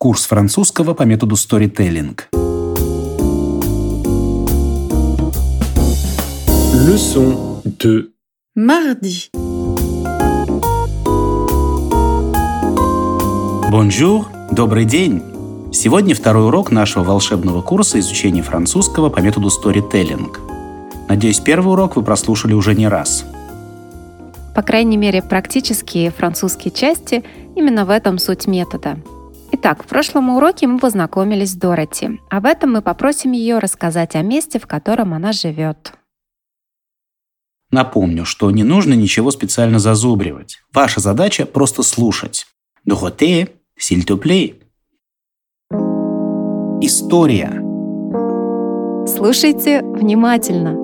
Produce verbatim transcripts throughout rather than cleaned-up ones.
Курс французского по методу Storytelling. Leçon deux. Mardi. Bonjour, добрый день! Сегодня второй урок нашего волшебного курса изучения французского по методу Storytelling. Надеюсь, первый урок вы прослушали уже не раз. По крайней мере, практические французские части именно в этом суть метода. Итак, в прошлом уроке мы познакомились с Дороти, а в этом мы попросим ее рассказать о месте, в котором она живет. Напомню, что не нужно ничего специально зазубривать. Ваша задача просто слушать. Dorothée, s'il te plaît. История. Слушайте внимательно.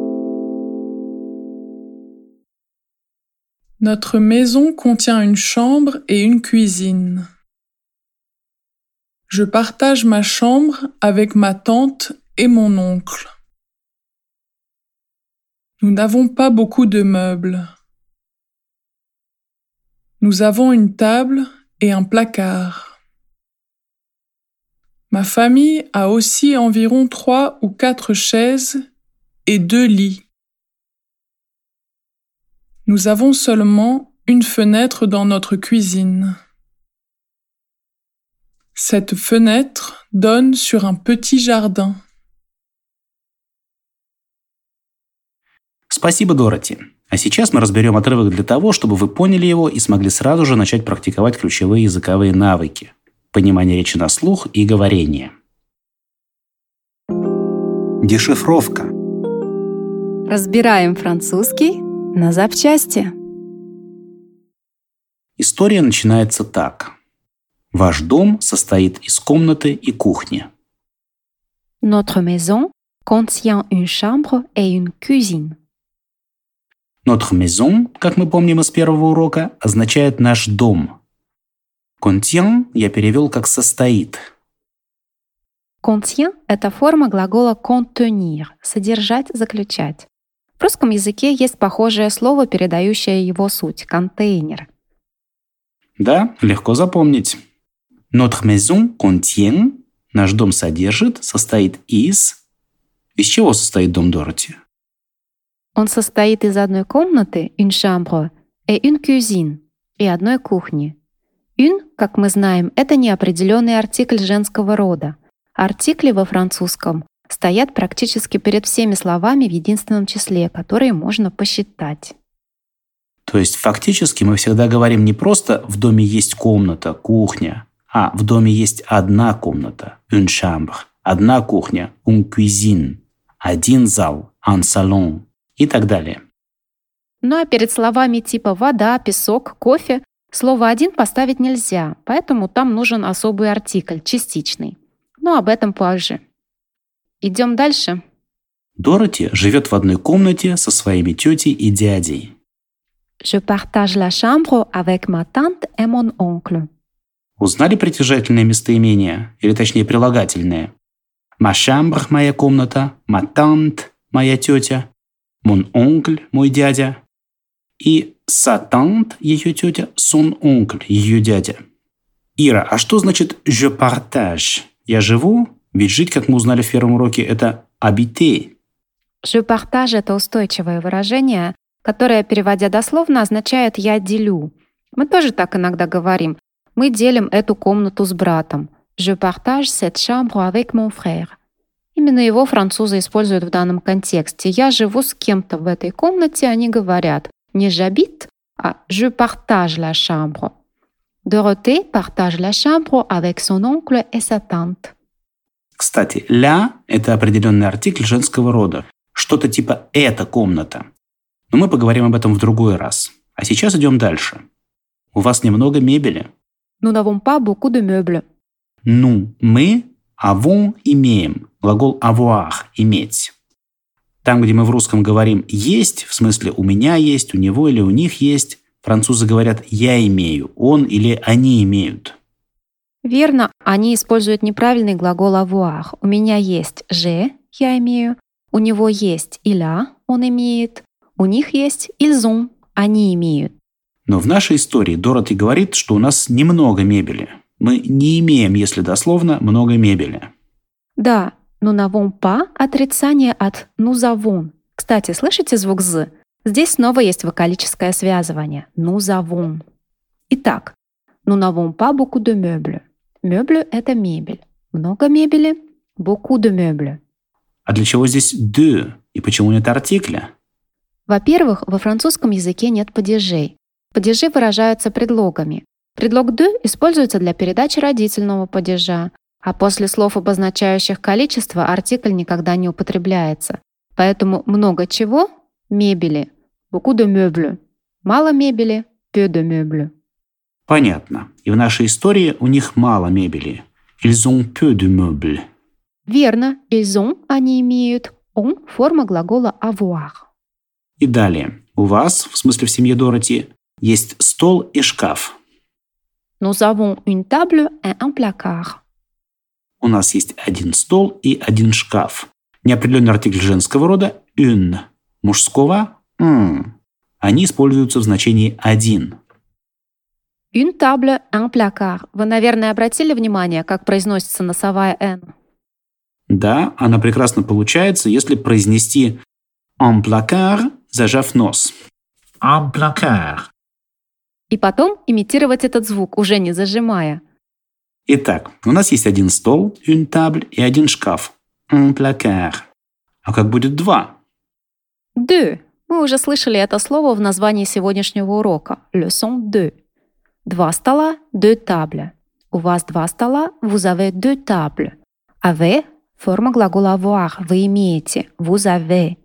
Notre maison contient une chambre et une cuisine. Je partage ma chambre avec ma tante et mon oncle. Nous n'avons pas beaucoup de meubles. Nous avons une table et un placard. Ma famille a aussi environ trois ou quatre chaises et deux lits. Nous avons seulement une fenêtre dans notre cuisine. Cette fenêtre donne sur un petit jardin. Спасибо, Дороти. А сейчас мы разберем отрывок для того, чтобы вы поняли его и смогли сразу же начать практиковать ключевые языковые навыки: понимание речи на слух и говорение. Дешифровка. Разбираем французский на запчасти. История начинается так. Ваш дом состоит из комнаты и кухни. Notre maison contient une chambre et une cuisine. Notre maison, как мы помним из первого урока, означает «наш дом». Contient я перевел как «состоит». Contient – это форма глагола contenir – содержать, заключать. В русском языке есть похожее слово, передающее его суть – контейнер. Да, легко запомнить. Notre maison contient, наш дом содержит, состоит из... Из чего состоит дом Дороти? Он состоит из одной комнаты, une chambre, et une cuisine, и одной кухни. Une, как мы знаем, это неопределенный артикль женского рода. Артикли во французском стоят практически перед всеми словами в единственном числе, которые можно посчитать. То есть фактически мы всегда говорим не просто «в доме есть комната, кухня», а «в доме есть одна комната, une chambre», одна кухня, une cuisine, один зал, un salon и так далее. Ну а перед словами типа «вода», «песок», «кофе» слово «один» поставить нельзя, поэтому там нужен особый артикль, частичный. Но об этом позже. Идем дальше. Дороти живет в одной комнате со своими тетей и дядей. Je partage la chambre avec ma tante et mon oncle. Узнали притяжательное местоимение, или точнее прилагательное? Ma chambre – моя комната, ma tante – моя тетя, mon oncle – мой дядя, и sa tante – ее тетя, son oncle – ее дядя. Ира, а что значит je partage? Я живу? Ведь жить, как мы узнали в первом уроке, это habiter. Je partage – это устойчивое выражение, которое, переводя дословно, означает «я делю». Мы тоже так иногда говорим. Мы делим эту комнату с братом. Je partage cette chambre avec mon frère. Именно его французы используют в данном контексте. Я живу с кем-то в этой комнате, они говорят не j'habite, а je partage la chambre. Dorothée partage la chambre avec son oncle et sa tante. Кстати, «ля» — это определенный артикль женского рода. Что-то типа «эта комната». Но мы поговорим об этом в другой раз. А сейчас идем дальше. У вас немного мебели. Nous n'avons pas beaucoup de meubles. Ну, мы avons – имеем. Глагол avoir – иметь. Там, где мы в русском говорим «есть», в смысле «у меня есть», «у него» или «у них есть», французы говорят «я имею», «он» или «они имеют». Верно, они используют неправильный глагол avoir. У меня есть «j'ai» – я имею, у него есть «il a» – он имеет, у них есть «ils ont» – они имеют. Но в нашей истории Дороти говорит, что у нас немного мебели. Мы не имеем, если дословно, много мебели. Да, nous n'avons pas – отрицание от nous avons. Кстати, слышите звук «з»? Здесь снова есть вокалическое связывание. Nous avons. Итак, nous n'avons pas beaucoup de meubles. Мeubles – это мебель. Много мебели – beaucoup de meubles. А для чего здесь de? И почему нет артикля? Во-первых, во французском языке нет падежей. Падежи выражаются предлогами. Предлог de используется для передачи родительного падежа, а после слов, обозначающих количество, артикль никогда не употребляется. Поэтому много чего – мебели, beaucoup de meubles. Мало мебели – peu de meubles. Понятно. И в нашей истории у них мало мебели. Ils ont peu de meubles. Верно. Ils ont – они имеют. On – форма глагола avoir. И далее. У вас, в смысле в семье Дороти, есть стол и шкаф. Nous avons une table et un placard. У нас есть один стол и один шкаф. Неопределенный артикль женского рода – une. Мужского – un. Они используются в значении «один». Une table, un placard. Вы, наверное, обратили внимание, как произносится носовая «н»? Да, она прекрасно получается, если произнести «un placard», зажав нос. «Un placard». И потом имитировать этот звук, уже не зажимая. Итак, у нас есть один стол, une table, и один шкаф, un placard. А как будет два? Deux. Мы уже слышали это слово в названии сегодняшнего урока. Leçon deux. Два стола, deux tables. У вас два стола, vous avez deux tables. Avez – форма глагола avoir. Вы имеете. Vous avez.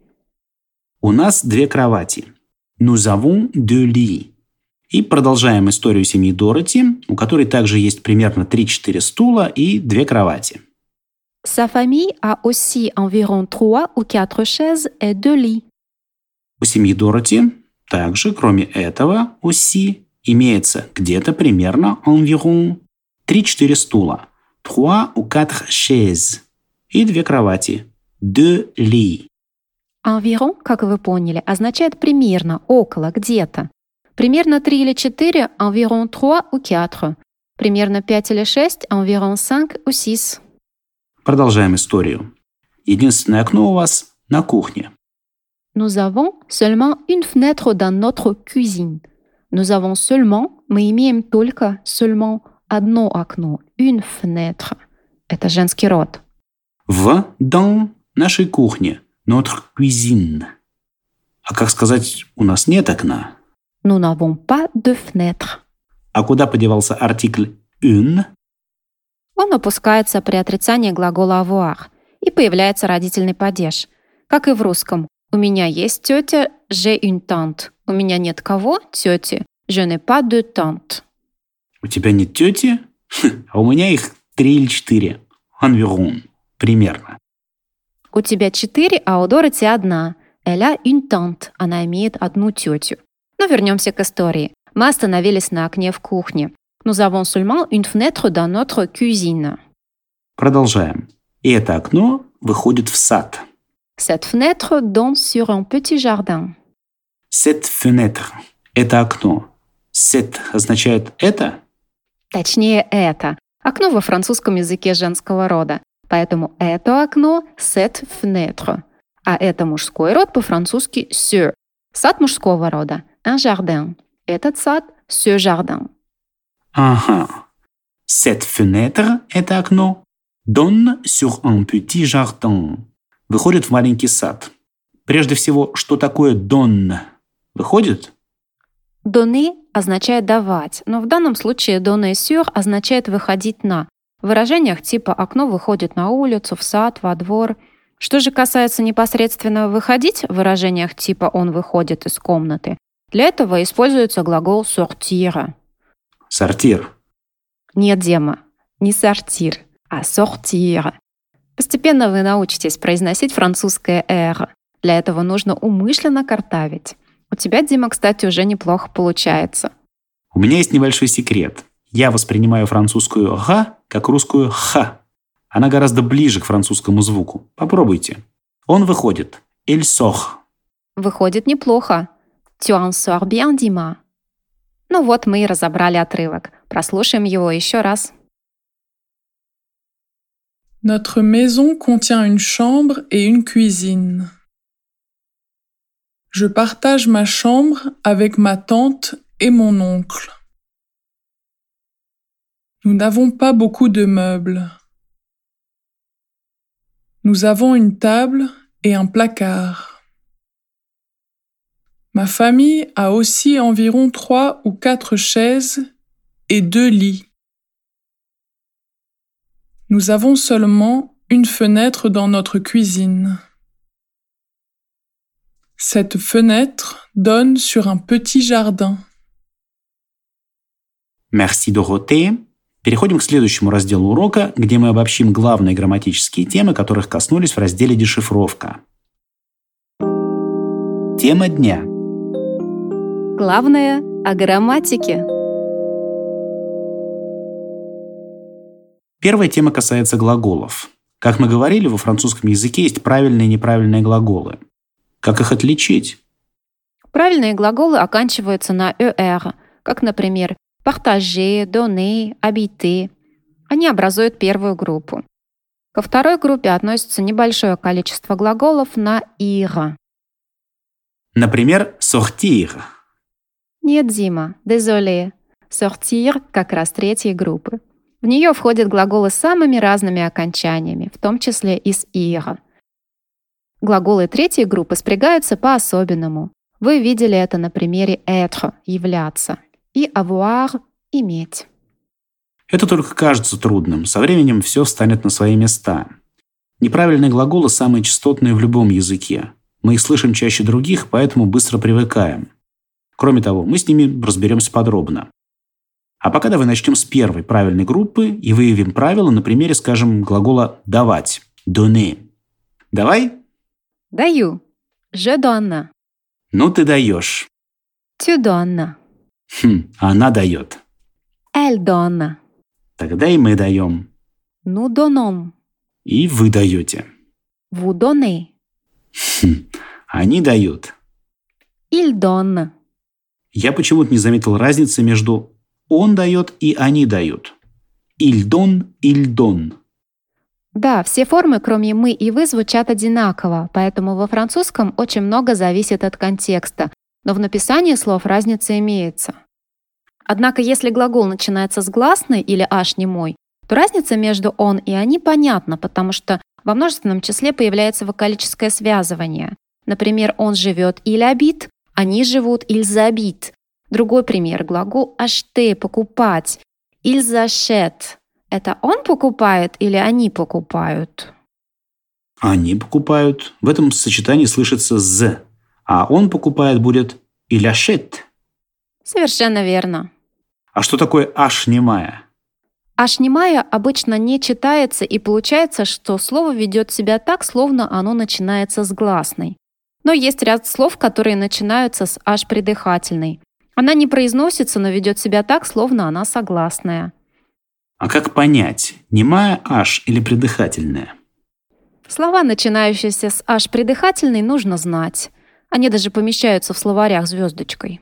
У нас две кровати. Nous avons deux lits. И продолжаем историю семьи Дороти, у которой также есть примерно три-четыре стула и две кровати. Sa famille a aussi environ trois ou quatre chaises et deux lits. У семьи Дороти также, кроме этого, aussi, имеется где-то примерно environ три-четыре стула, trois ou quatre chaises, и две кровати, deux lits. Environ, как вы поняли, означает примерно, около, где-то. Примерно три или четыре – environ trois ou quatre. Примерно пять или шесть – environ cinq ou six. Продолжаем историю. Единственное окно у вас на кухне. Nous avons seulement une fenêtre dans notre cuisine. Nous avons seulement, мы имеем только, seulement, одно окно, une fenêtre. Это женский род. В, dans, нашей кухне, notre cuisine. А как сказать, у нас нет окна? Nous n'avons pas de fenêtre. А куда подевался артикль une? Он опускается при отрицании глагола avoir, и появляется родительный падеж. Как и в русском. У меня есть тетя, j'ai une tante. У меня нет кого? Тети. Je n'ai pas de tante. У тебя нет тети? А у меня их три или четыре. Environ. Примерно. У тебя четыре, а у Дороти одна. Elle a une tante. Она имеет одну тетю. Но вернемся к истории. Мы остановились на окне в кухне. Nous avons seulement une fenêtre dans notre cuisine. Продолжаем. И это окно выходит в сад. Cette fenêtre donne sur un petit jardin. Cette fenêtre – это окно. Cette означает «это». Точнее, это. Окно во французском языке женского рода. Поэтому это окно – cette fenêtre. А это мужской род по-французски ce. Сад мужского рода – un jardin. Этот сад – ce jardin. Ага. Cette fenêtre – это окно. Donne sur un petit jardin. Выходит в маленький сад. Прежде всего, что такое donne? Выходит? Donner означает давать, но в данном случае donner sur означает выходить на. В выражениях типа «окно выходит на улицу», «в сад», «во двор». Что же касается непосредственно «выходить» в выражениях типа «он выходит из комнаты», для этого используется глагол sortir. Сортир. Нет, Дема, не sortir, а sortir. Постепенно вы научитесь произносить французское «р». Для этого нужно умышленно картавить. У тебя, Дима, кстати, уже неплохо получается. У меня есть небольшой секрет. Я воспринимаю французскую «га» как русскую «ха». Она гораздо ближе к французскому звуку. Попробуйте. Он выходит. Il sort. Выходит неплохо. Tu en sors bien, Дима. Ну вот мы и разобрали отрывок. Прослушаем его еще раз. Notre maison contient une chambre et une cuisine. Je partage ma chambre avec ma tante et mon oncle. Nous n'avons pas beaucoup de meubles. Nous avons une table et un placard. Ma famille a aussi environ trois ou quatre chaises et deux lits. Nous avons seulement une fenêtre dans notre cuisine. Cette fenêtre donne sur un petit jardin. Merci, Доротея. Переходим к следующему разделу урока, где мы обобщим главные грамматические темы, которых коснулись в разделе «Дешифровка». Тема дня. Главное о грамматике. Первая тема касается глаголов. Как мы говорили, во французском языке есть правильные и неправильные глаголы. Как их отличить? Правильные глаголы оканчиваются на «er», как, например, partager, donner, habiter. Они образуют первую группу. Ко второй группе относится небольшое количество глаголов на «ir». Например, sortir. Нет, Дима, désolé. Sortir как раз третьей группы. В нее входят глаголы с самыми разными окончаниями, в том числе и с «ir». Глаголы третьей группы спрягаются по-особенному. Вы видели это на примере être – являться, и avoir – иметь. Это только кажется трудным. Со временем все встанет на свои места. Неправильные глаголы самые частотные в любом языке. Мы их слышим чаще других, поэтому быстро привыкаем. Кроме того, мы с ними разберемся подробно. А пока давай начнем с первой правильной группы и выявим правила на примере, скажем, глагола «давать» – «donner». Давай? Даю. Je donne. Ну ты даешь. Tu donnes. Хм, она дает. Elle donne. Тогда и мы даем. Nous donnons. И вы даете. Vous donnez. Хм, они дают. Il donne. Я почему-то не заметил разницы между «он дает» и «они дают». Il donne, il donne. Да, все формы, кроме «мы» и «вы», звучат одинаково, поэтому во французском очень много зависит от контекста, но в написании слов разница имеется. Однако, если глагол начинается с гласной или «аш» немой, то разница между «он» и «они» понятна, потому что во множественном числе появляется вокалическое связывание. Например, «он живет» «il habite», «они живут» «ils habitent». Другой пример – глагол «acheter» – «покупать», «ils achètent». Это он покупает или они покупают? Они покупают. В этом сочетании слышится «з». А он покупает будет «il achète». Совершенно верно. А что такое «аш» немая? «Аш» немая обычно не читается, и получается, что слово ведет себя так, словно оно начинается с гласной. Но есть ряд слов, которые начинаются с «аш» придыхательной. Она не произносится, но ведет себя так, словно она согласная. А как понять, немая «аш» или придыхательная? Слова, начинающиеся с «аш» придыхательной, нужно знать. Они даже помещаются в словарях звездочкой.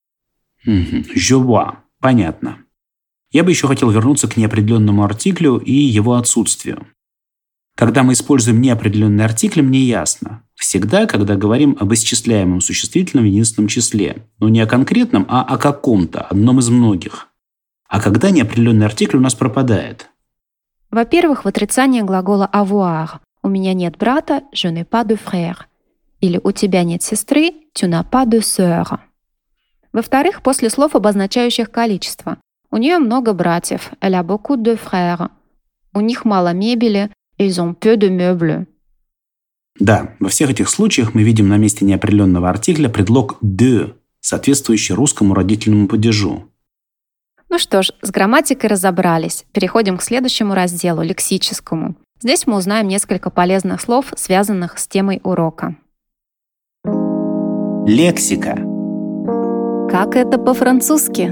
Je vois. Понятно. Я бы еще хотел вернуться к неопределенному артиклю и его отсутствию. Когда мы используем неопределенный артикль, мне ясно. Всегда, когда говорим об исчисляемом существительном в единственном числе. Но не о конкретном, а о каком-то, одном из многих. А когда неопределенный артикль у нас пропадает? Во-первых, в отрицании глагола avoir. У меня нет брата, je n'ai pas de frère. Или у тебя нет сестры, tu n'as pas de sœur. Во-вторых, после слов, обозначающих количество. У нее много братьев, elle a beaucoup de frères. У них мало мебели, ils ont peu de meubles. Да, во всех этих случаях мы видим на месте неопределенного артикля предлог de, соответствующий русскому родительному падежу. Ну что ж, с грамматикой разобрались. Переходим к следующему разделу, лексическому. Здесь мы узнаем несколько полезных слов, связанных с темой урока. Лексика. Как это по-французски?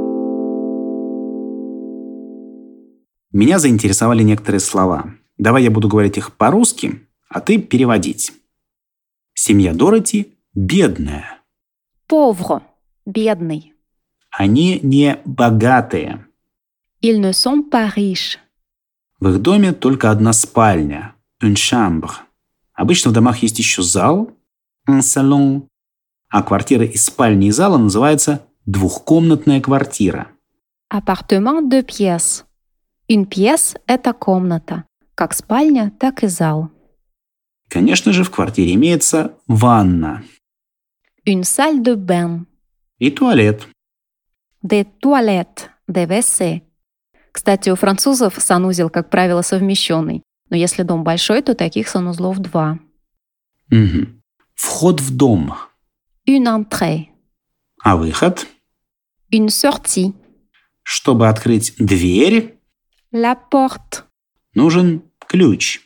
Меня заинтересовали некоторые слова. Давай я буду говорить их по-русски, а ты переводить. Семья Дороти бедная. Pauvre – бедный. Они не богатые. Ils ne sont pas riches. В их доме только одна спальня – une chambre. Обычно в домах есть еще зал – un salon. А квартира из спальни и зала называется двухкомнатная квартира. Appartement de pièces. Une pièce – это комната. Как спальня, так и зал. Конечно же, в квартире имеется ванна Une salle de bain. и туалет. Des toilettes. Des вэ цэ. Кстати, у французов санузел, как правило, совмещенный. Но если дом большой, то таких санузлов два. Угу. Вход в дом. Une entrée. А выход? Une sortie. Чтобы открыть дверь, La porte. нужен ключ.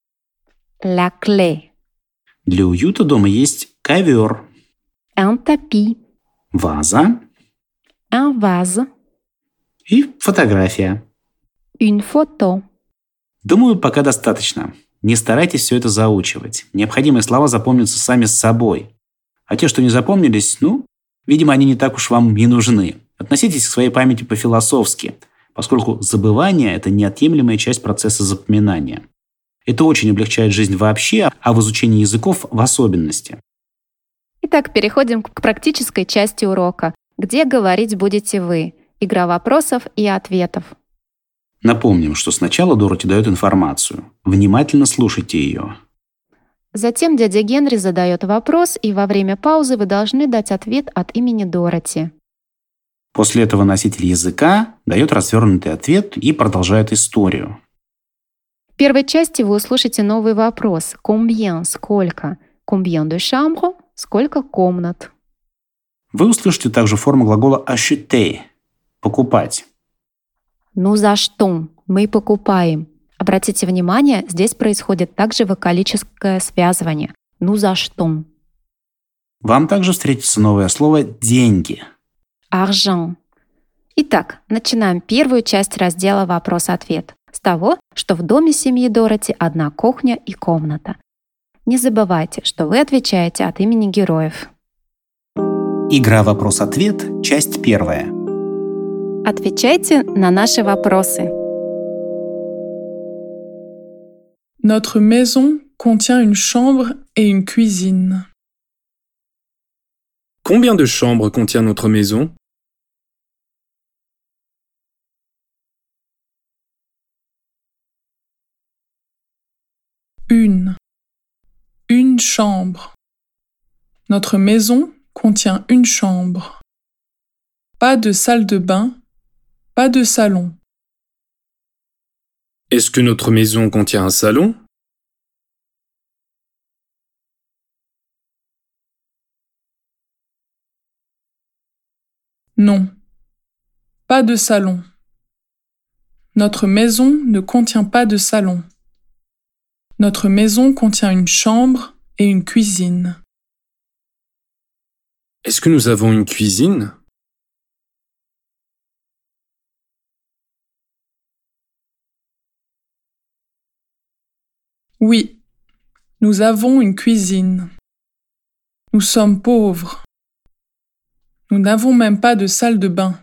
La clé. Для уюта дома есть ковер, Un tapis. ваза Un vase. и фотография. Une photo. Думаю, пока достаточно. Не старайтесь все это заучивать. Необходимые слова запомнятся сами с собой. А те, что не запомнились, ну, видимо, они не так уж вам и нужны. Относитесь к своей памяти по-философски, поскольку забывание – это неотъемлемая часть процесса запоминания. Это очень облегчает жизнь вообще, а в изучении языков в особенности. Итак, переходим к практической части урока, где говорить будете вы. Игра вопросов и ответов. Напомним, что сначала Дороти дает информацию. Внимательно слушайте ее. Затем дядя Генри задает вопрос, и во время паузы вы должны дать ответ от имени Дороти. После этого носитель языка дает развернутый ответ и продолжает историю. В первой части вы услышите новый вопрос. Combien – сколько? Combien de chambres – сколько комнат? Вы услышите также форму глагола acheter – покупать. Nous achetons – мы покупаем. Обратите внимание, здесь происходит также вокалическое связывание. Nous achetons. Вам также встретится новое слово «деньги». Argent. Итак, начинаем первую часть раздела «Вопрос-ответ» с того, что в доме семьи Дороти одна кухня и комната. Не забывайте, что вы отвечаете от имени героев. Игра «Вопрос-ответ», часть первая. Отвечайте на наши вопросы. Notre maison contient une chambre et une cuisine. Combien de chambres contient notre maison? Une. Une chambre. Notre maison contient une chambre. Pas de salle de bain, pas de salon. Est-ce que notre maison contient un salon? Non, pas de salon. Notre maison ne contient pas de salon. Notre maison contient une chambre et une cuisine. Est-ce que nous avons une cuisine? Oui, nous avons une cuisine. Nous sommes pauvres. Nous n'avons même pas de salle de bain.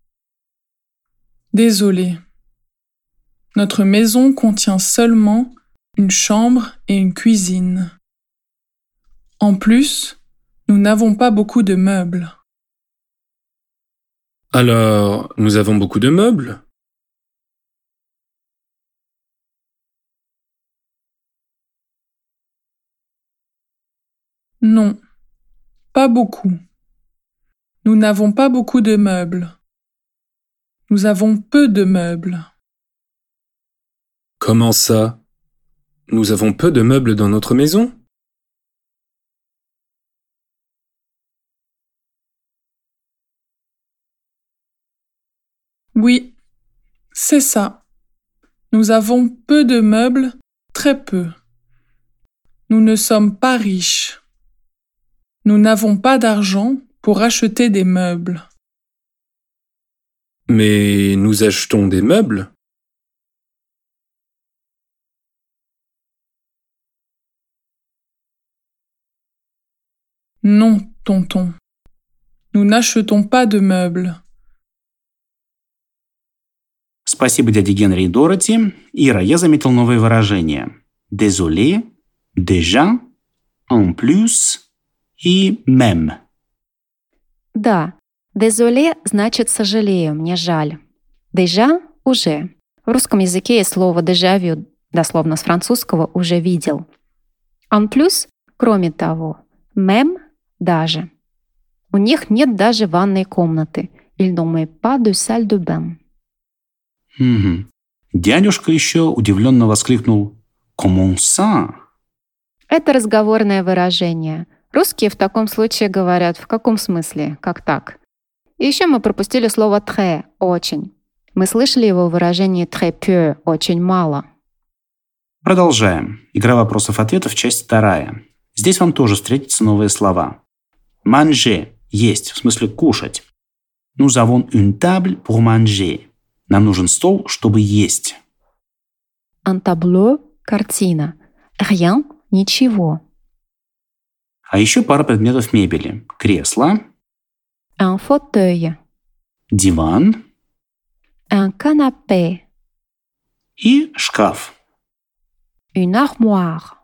Désolé. Notre maison contient seulement une chambre et une cuisine. En plus, nous n'avons pas beaucoup de meubles. Alors, nous avons beaucoup de meubles? Non, pas beaucoup. Nous n'avons pas beaucoup de meubles. Nous avons peu de meubles. Comment ça? Nous avons peu de meubles dans notre maison? Oui, c'est ça. Nous avons peu de meubles, très peu. Nous ne sommes pas riches. Nous n'avons pas d'argent pour acheter des meubles. Mais nous achetons des meubles? Non, tonton. Nous n'achetons pas de meubles. Спасибо дяде Генри и Дороти. Ира, я заметил новые выражения. Désolé, déjà, en plus и même. Да, désolé значит «сожалею», «мне жаль». Déjà — «уже». В русском языке есть слово déjà vu, дословно с французского «уже видел». En plus — «кроме того». Même — «даже». У них нет даже ванной комнаты. Ils n'ont même pas de salle de bain. Угу. Дядюшка еще удивленно воскликнул «Comment ça?» Это разговорное выражение. Русские в таком случае говорят «в каком смысле?», «как так?». И еще мы пропустили слово «très» — «очень». Мы слышали его выражение «très peu» — «очень мало». Продолжаем. Игра вопросов-ответов, часть вторая. Здесь вам тоже встретятся новые слова. Manger – есть, в смысле кушать. Nous avons une table pour manger. Нам нужен стол, чтобы есть. Un tableau — картина. Rien — ничего. А еще пара предметов мебели. Кресло, Un fauteuil. диван Un canapé. и шкаф. Une armoire.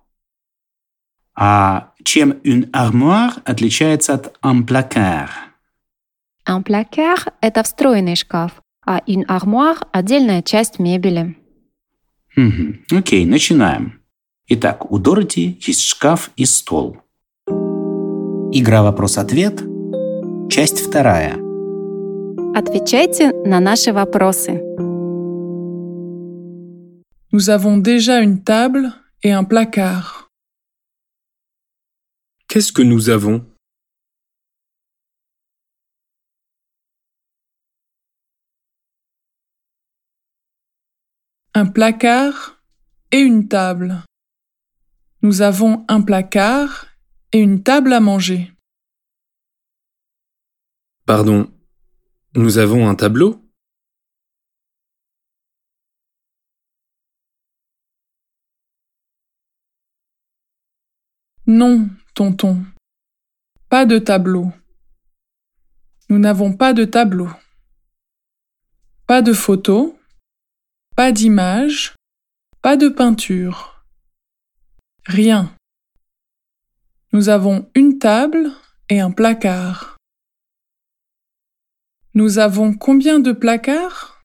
А чем une armoire отличается от un placard? Un placard — это встроенный шкаф, а une armoire — отдельная часть мебели. Угу. Окей, начинаем. Итак, у Дороти есть шкаф и стол. Игра вопрос-ответ, часть вторая. Отвечайте на наши вопросы. Nous avons déjà une table et un placard. Qu'est-ce que nous avons? Un placard et une table. Nous avons un placard et une table à manger. Pardon, nous avons un tableau? Non, tonton. Pas de tableau. Nous n'avons pas de tableau. Pas de photo. Pas d'image. Pas de peinture. Rien. Nous avons une table et un placard. Nous avons combien de placards?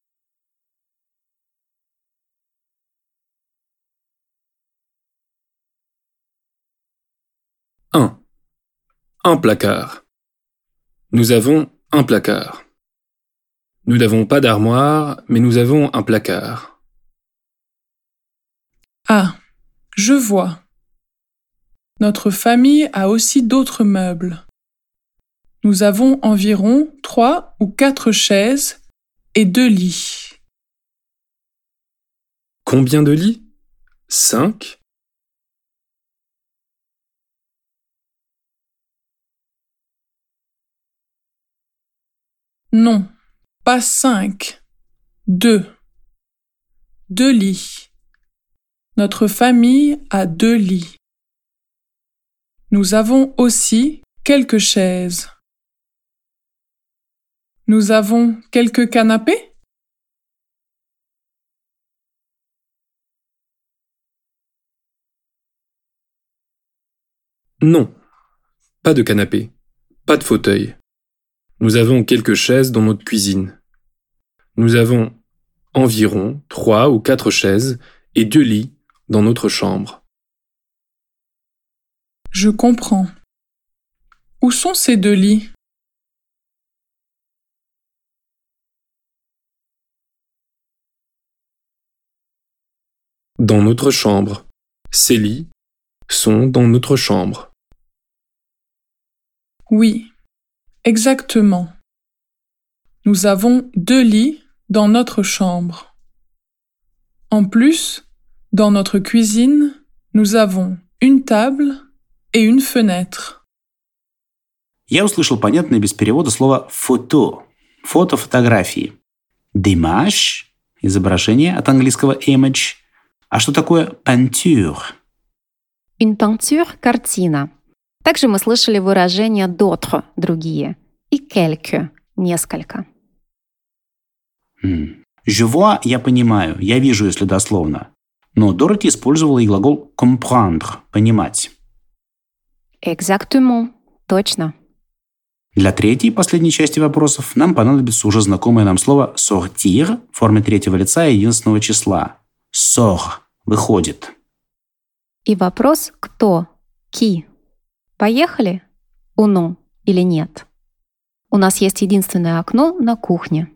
Un. Un placard. Nous avons un placard. Nous n'avons pas d'armoire, mais nous avons un placard. Ah, je vois. Notre famille a aussi d'autres meubles. Nous avons environ trois ou quatre chaises et deux lits. Combien de lits? Cinq. Non, pas cinq. Deux. Deux lits. Notre famille a deux lits. Nous avons aussi quelques chaises. Nous avons quelques canapés? Non, pas de canapé, pas de fauteuil. Nous avons quelques chaises dans notre cuisine. Nous avons environ trois ou quatre chaises et deux lits dans notre chambre. Je comprends. Où sont ces deux lits? Dans notre chambre. Ces lits sont dans notre chambre. Oui, exactement. Nous avons deux lits dans notre chambre. En plus, dans notre cuisine, nous avons une table et une fenêtre. Я услышал понятное без перевода слово «фото» – фото, фотографии. «D'image» – изображение от английского «image». А что такое «peinture»? Une peinture — картина. Также мы слышали выражение «d'autres» — другие и «quelques» — несколько. М. Je vois, я понимаю, я вижу, если дословно. Но Дороти использовала и глагол comprendre, понимать. Exactement. Точно. Для третьей и последней части вопросов нам понадобится уже знакомое нам слово sortir в форме третьего лица и единственного числа. Sort – выходит. И вопрос «кто?» Qui? Поехали? Ou non? Или нет? У нас есть единственное окно на кухне.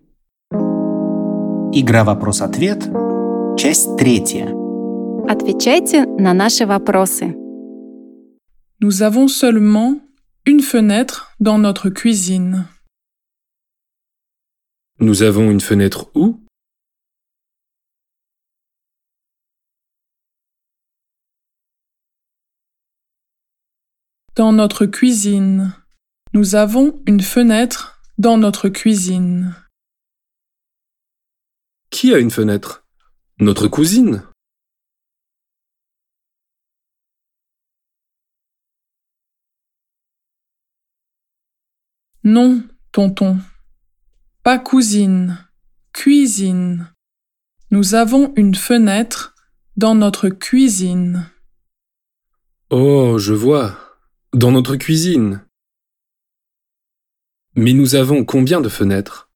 Игра «Вопрос-ответ». Часть третья. Отвечайте на наши вопросы. Nous avons seulement une fenêtre dans notre cuisine. Nous avons une fenêtre où? Dans notre cuisine. Nous avons une fenêtre dans notre cuisine. Qui a une fenêtre? Notre cousine? Non, tonton. Pas cousine. Cuisine. Nous avons une fenêtre dans notre cuisine. Oh, je vois. Dans notre cuisine. Mais nous avons combien de fenêtres?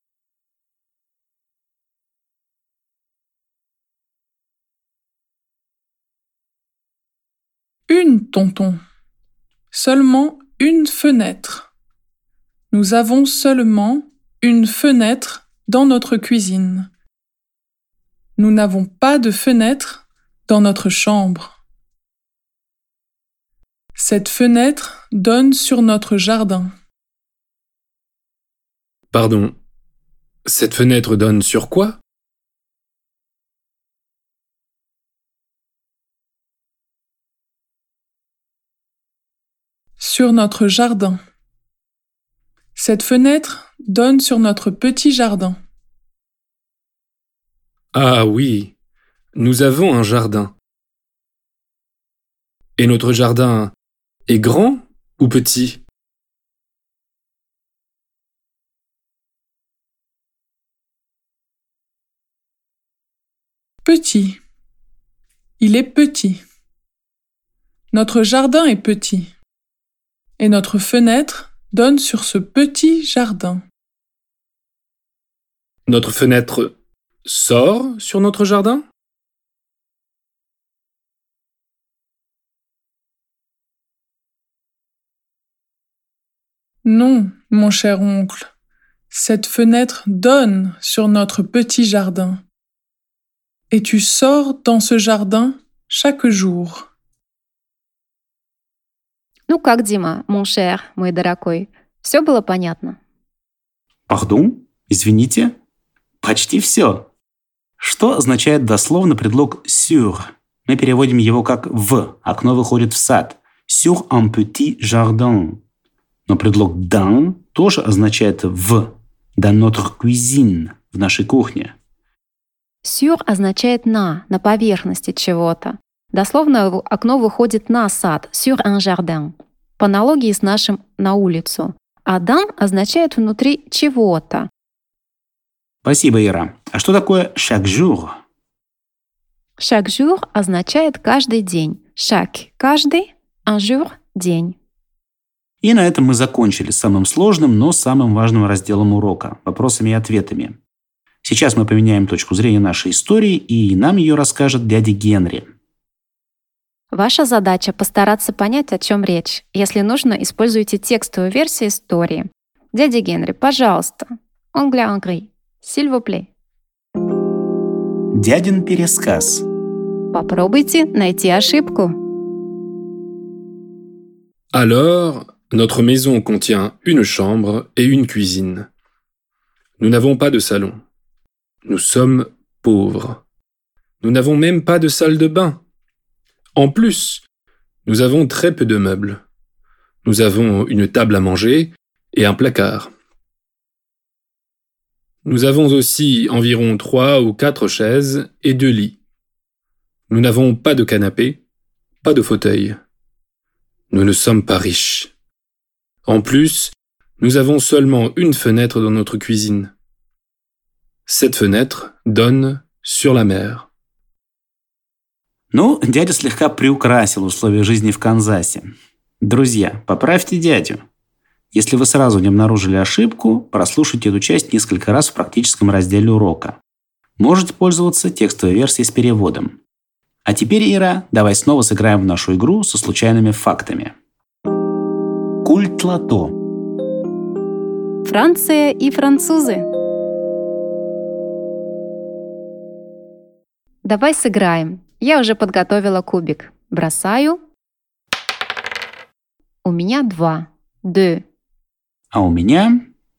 Une, tonton. Seulement une fenêtre. Nous avons seulement une fenêtre dans notre cuisine. Nous n'avons pas de fenêtre dans notre chambre. Cette fenêtre donne sur notre jardin. Pardon. Cette fenêtre donne sur quoi? Sur notre jardin. Cette fenêtre donne sur notre petit jardin. Ah oui, nous avons un jardin. Et notre jardin est grand ou petit? Petit. Il est petit. Notre jardin est petit. Et notre fenêtre donne sur ce petit jardin. Notre fenêtre sort sur notre jardin? Non, mon cher oncle. Cette fenêtre donne sur notre petit jardin. Et tu sors dans ce jardin chaque jour. Ну как, Дима, mon cher, мой дорогой, все было понятно? Пардон? Извините? Почти все. Что означает дословно предлог sur? Мы переводим его как «в», окно выходит в сад. Sur un petit jardin. Но предлог dans тоже означает «в», dans notre cuisine, в нашей кухне. Sur означает «на», на поверхности чего-то. Дословно окно выходит на сад, sur un jardin, по аналогии с нашим «на улицу». А dans означает внутри чего-то. Спасибо, Ира. А что такое chaque jour? Chaque jour означает каждый день. Chaque – каждый, un jour – день. И на этом мы закончили с самым сложным, но самым важным разделом урока – вопросами и ответами. Сейчас мы поменяем точку зрения нашей истории, и нам ее расскажет дядя Генри. Ваша задача – постараться понять, о чем речь. Если нужно, используйте текстовую версию истории. Дядя Генри, пожалуйста. Anglais en gris. S'il vous plaît. Дядин пересказ. Попробуйте найти ошибку. Alors, notre maison contient une chambre et une cuisine. Nous n'avons pas de salon. Nous sommes pauvres. Nous n'avons même pas de salle de bain. En plus, nous avons très peu de meubles. Nous avons une table à manger et un placard. Nous avons aussi environ trois ou quatre chaises et deux lits. Nous n'avons pas de canapé, pas de fauteuil. Nous ne sommes pas riches. En plus, nous avons seulement une fenêtre dans notre cuisine. Cette fenêtre donne sur la mer. Ну, дядя слегка приукрасил условия жизни в Канзасе. Друзья, поправьте дядю. Если вы сразу не обнаружили ошибку, прослушайте эту часть несколько раз в практическом разделе урока. Можете пользоваться текстовой версией с переводом. А теперь, Ира, давай снова сыграем в нашу игру со случайными фактами. Культ лото. Франция и французы. Давай сыграем. Я уже подготовила кубик. Бросаю. У меня два. Deux. А у меня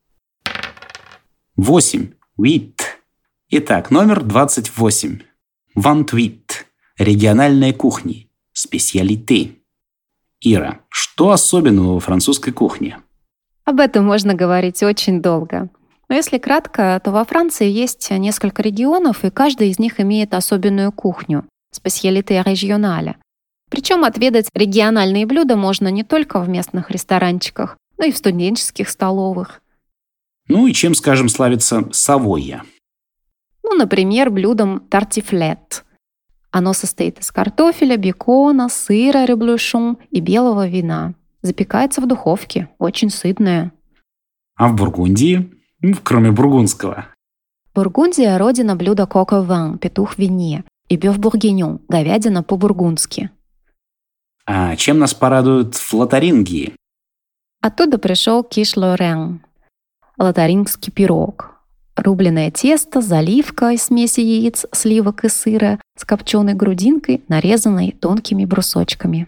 восемь. Huit. Итак, номер двадцать восемь. Vingt-huit. Региональные кухни. Специалите. Ира, что особенного во французской кухне? Об этом можно говорить очень долго. Но если кратко, то во Франции есть несколько регионов, и каждый из них имеет особенную кухню – специалите регионаля. Причем отведать региональные блюда можно не только в местных ресторанчиках, но и в студенческих столовых. Ну и чем, скажем, славится Савойя? Ну, например, блюдом тартифлет. Оно состоит из картофеля, бекона, сыра ребluchon и белого вина. Запекается в духовке, очень сытное. А в Бургундии? Ну, кроме бургундского. Бургундия – родина блюда coq au vin, петух в вине, и бёв бургиньон, говядина по-бургундски. А чем нас порадуют в Лотарингии? Оттуда пришел киш лорен, лотарингский пирог. Рубленое тесто, заливка из смеси яиц, сливок и сыра с копченой грудинкой, нарезанной тонкими брусочками.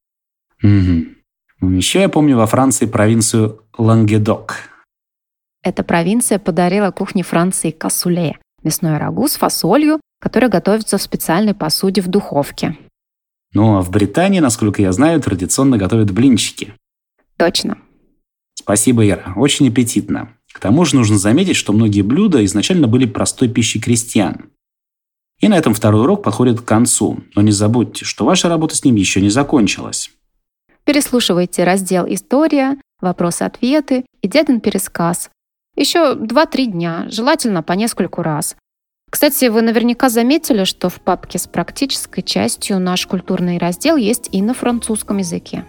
Угу. Еще я помню во Франции провинцию Лангедок. Эта провинция подарила кухне Франции кассуле – мясное рагу с фасолью, которое готовится в специальной посуде в духовке. Ну а в Британии, насколько я знаю, традиционно готовят блинчики. Точно. Спасибо, Ира. Очень аппетитно. К тому же нужно заметить, что многие блюда изначально были простой пищей крестьян. И на этом второй урок подходит к концу. Но не забудьте, что ваша работа с ним еще не закончилась. Переслушивайте раздел «История», «Вопросы-ответы» и «Дядин пересказ». Еще два-три дня, желательно по нескольку раз. Кстати, вы наверняка заметили, что в папке с практической частью наш культурный раздел есть и на французском языке.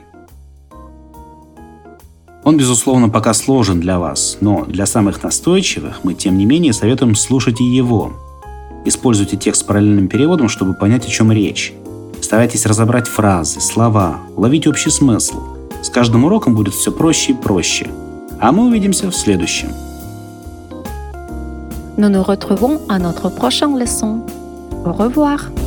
Он, безусловно, пока сложен для вас, но для самых настойчивых мы, тем не менее, советуем слушать и его. Используйте текст с параллельным переводом, чтобы понять, о чем речь. Старайтесь разобрать фразы, слова, уловить общий смысл. С каждым уроком будет все проще и проще. А мы увидимся в следующем. Nous nous retrouvons à notre prochaine leçon. Au revoir.